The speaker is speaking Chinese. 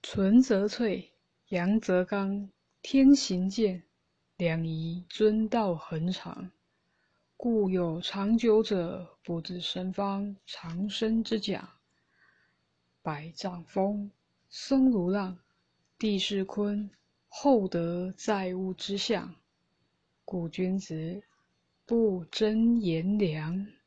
存则粹，阳则刚，天行健，两仪遵道恒常。故有长久者，不自生方长生之讲。百丈峰，松如浪，地势坤，厚德载物之象。故君子不争炎凉。